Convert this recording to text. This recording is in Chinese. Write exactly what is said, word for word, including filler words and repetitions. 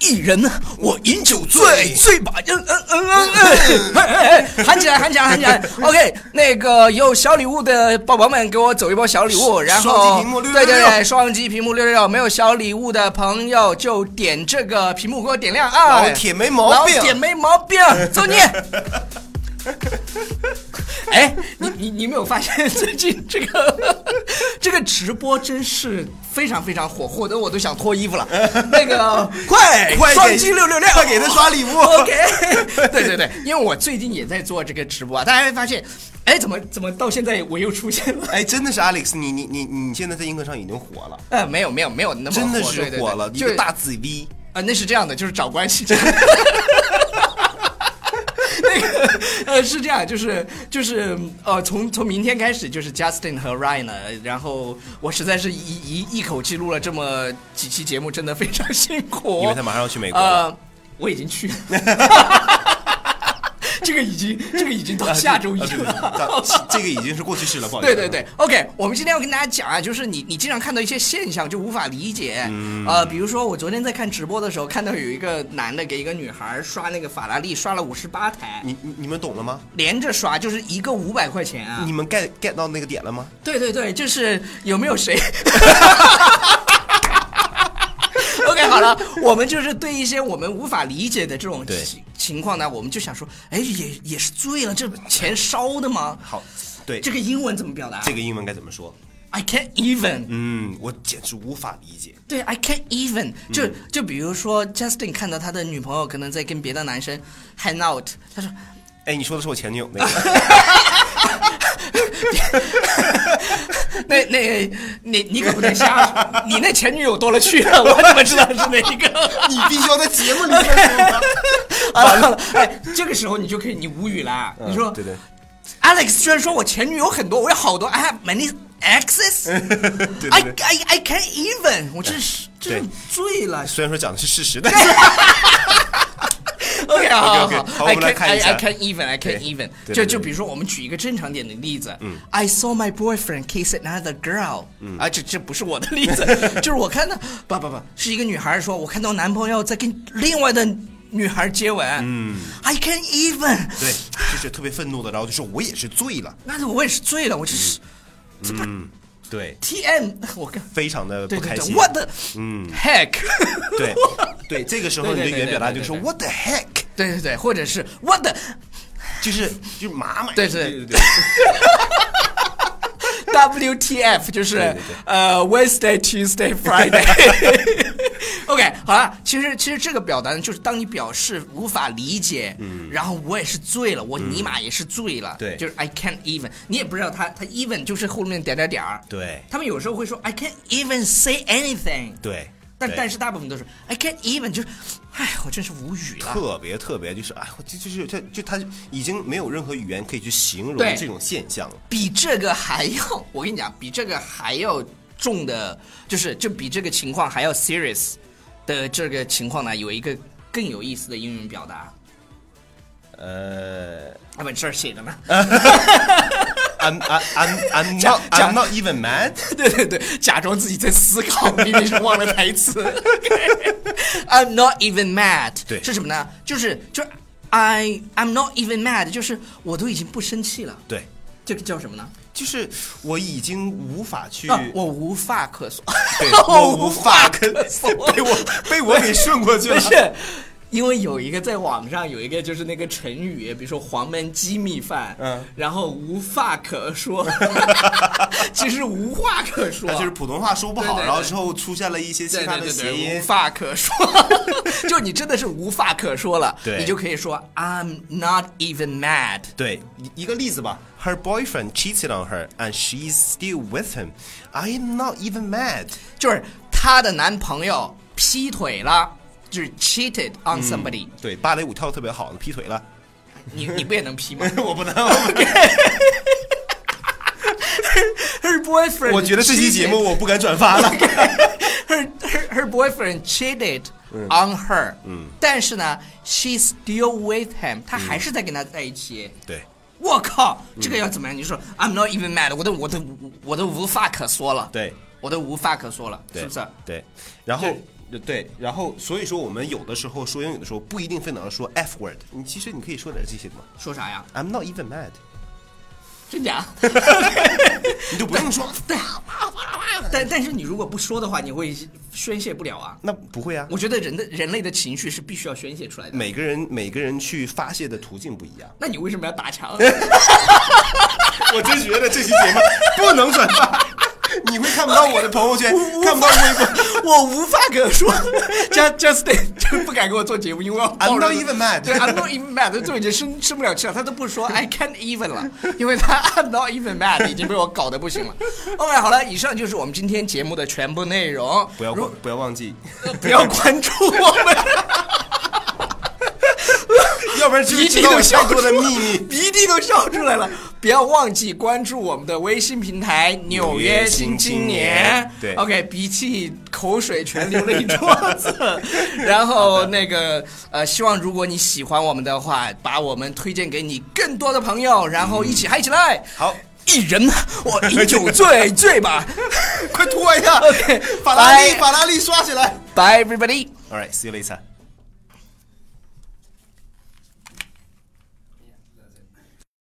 一人我饮酒醉，醉把人嗯嗯嗯嗯，喊起来喊起来喊起来 ！OK， 那个有小礼物的宝宝们给我走一波小礼物，然后对对对，双击屏幕六六六，没有小礼物的朋友就点这个屏幕给我点亮啊！ 老铁没毛病， 老铁没毛病，走你！哎，你你你没有发现最近这个这个直播真是非常非常火，火的我都想脱衣服了。那个快快双击六六六， 快给他刷礼物。 OK， 对对对，因为我最近也在做这个直播，大家会发现，哎，怎么怎么到现在我又出现了？ 哎，真的是 Alex， 你你你你现在在映客上已经火了。 呃，没有没有没有那么火， 真的是火了， 对对对， 一个大紫 V 啊、呃，那是这样的，就是找关系。那个呃是这样，就是就是呃从从明天开始就是 Justin 和 Ryan 了，然后我实在是一一一口气录了这么几期节目，真的非常辛苦。 因为他马上要去美国了。 呃，我已经去了。这个已经，这个已经到下周一了，啊啊啊、这个已经是过去式了，不好意思。 对对对 ，OK， 我们今天要跟大家讲啊，就是你你经常看到一些现象就无法理解，嗯、呃，比如说我昨天在看直播的时候，看到有一个男的给一个女孩刷那个法拉利，刷了五十八台， 你你你们懂了吗？ 连着刷就是一个五百块钱啊！ 你们 get get 到那个点了吗？ 对对对，就是有没有谁？OK， 好了，我们就是对一些我们无法理解的这种情况呢，我们就想说，哎，也也是醉了，这钱烧的吗？ 好，对， 这个英文怎么表达？ 这个英文该怎么说 ？I can't even。 嗯，我简直无法理解。 对 ，I can't even 就。就就比如说 Justin 看到他的女朋友可能在跟别的男生 hang out， 他说：“ 哎，你说的是我前女友那个。” 那那你你可不能瞎说，你那前女友多了去了，我怎么知道是哪一个？ 你必须要在节目里面说。 好了好了，哎，这个时候你就可以，你无语了。 嗯、 你说， 对对 ，Alex 虽然说我前女友很多，我有好多 ，I have many exes 对对对 I I I can't even， 我真是真是醉了。 虽然说讲的是事实，但是。 OK， 好好好， 好，我们来看一下。 I can't even, I can't even。就就比如说，我们举一个正常点的例子。 嗯 I saw my boyfriend kiss another girl。 嗯啊，这这不是我的例子，就是我看到，不不不，是一个女孩说，我看到男朋友在跟另外的女孩接吻。 嗯 ，I can't even。 对，就是特别愤怒的，然后就说我也是醉了。 那我也是醉了，我就是，这不。 嗯对 ，T M， 我看非常的不开心。 What the 嗯 heck？ 对对，这个时候你的语言表达就是说 What the heck？ 对对对，或者是 What the， 就是就是麻麻。 对对对对对。 W T F 就是对对对呃 Wednesday Tuesday Friday 。OK， 好了，其实其实这个表达呢，就是当你表示无法理解，嗯，然后我也是醉了，我尼玛也是醉了， 嗯、对， 就是 I can't even， 你也不知道他他 even 就是后面点点点儿， 对， 他们有时候会说 I can't even say anything， 对， 但但是大部分都是 I can't even， 就是，哎，我真是无语了， 特别特别就是哎，就就是他就他已经没有任何语言可以去形容这种现象了， 比这个还要，我跟你讲，比这个还要重的，就是就比这个情况还要 serious。的这个情况呢，有一个更有意思的英文表达。 呃， 啊不，这儿写着呢。 I'm I'm I'm not I'm not even mad。 对对对，假装自己在思考，明明是忘了台词。I'm not even mad。 对， 是什么呢？就是就是 I I'm not even mad， 就是我都已经不生气了。 对， 这个叫什么呢？ 就是我已经无法去， 啊、我无话可说， 对，我无话可说，被我被我给顺过去了。 不是，因为有一个在网上有一个就是那个成语，比如说黄焖鸡米饭，嗯，然后无话可说，其实无话可说， 就是普通话说不好， 对对对， 然后之后出现了一些其他的谐音， 对对对对，无话可说，就你真的是无话可说了， 对， 你就可以说 I'm not even mad。 对，一个例子吧。Her boyfriend cheated on her, and she's still with him. I am not even mad. 就是她的男朋友劈腿了，就是 cheated on somebody、嗯。 对，芭蕾舞跳得特别好，劈腿了。 你你不也能劈吗？ 我不能。 Her boyfriend， 我觉得这期节目我不敢转发了。 her, her her boyfriend cheated on her，嗯，但是呢 ，she's still with him， 他还是在跟他在一起。 嗯、对。 我靠，这个要怎么样？你说 I'm not even mad， 我都我都我都无话可说了。 对， 我都无话可说了， 是不是？ 对。然后对，然后所以说我们有的时候说英语的时候不一定非得要说 F word， 你其实你可以说点这些的嘛。 说啥呀 ？I'm not even mad。 真假？ 你就不用说。 对。但但是你如果不说的话，你会宣泄不了啊。 那不会啊。 我觉得人的人类的情绪是必须要宣泄出来的。 每个人每个人去发泄的途径不一样。 那你为什么要打墙？ 我真觉得这期节目不能转发。你会看不到我的朋友圈，看不到微博， 我无话可说。Just Justin 就不敢跟我做节目，因为 I'm not even mad。 对 ，I'm not even mad， 这已经生吃不了气了。他都不说 I can't even 了，因为他 I'm not even mad 已经被我搞得不行了。OK， 好了，以上就是我们今天节目的全部内容。 不要不要忘记， 呃、不要关注我们。 要不然就知道太多的秘密， 鼻涕都笑出来了。不要忘记关注我们的微信平台《纽约新青年》。 对 ，OK， 鼻涕、口水全流了一桌子。然后那个呃，希望如果你喜欢我们的话，把我们推荐给你更多的朋友，然后一起嗨起来。 嗯、好， 一人我饮酒醉醉吧， 快吐一下。 OK， 法拉利，法拉利刷起来。 Bye everybody. All right, see you later.